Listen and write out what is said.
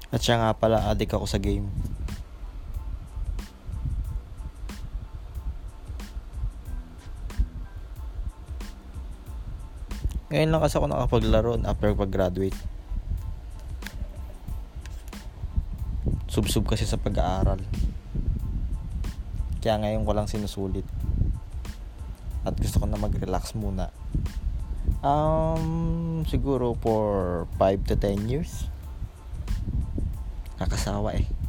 At siya nga pala, addict ako sa game. Ngayon lang kasi ako nakapaglaro after pag-graduate. Sub kasi sa pag-aaral. Kaya ngayon ko lang sinusulit. At gusto ko na mag-relax muna. Siguro for 5 to 10 years. Nakasawa eh.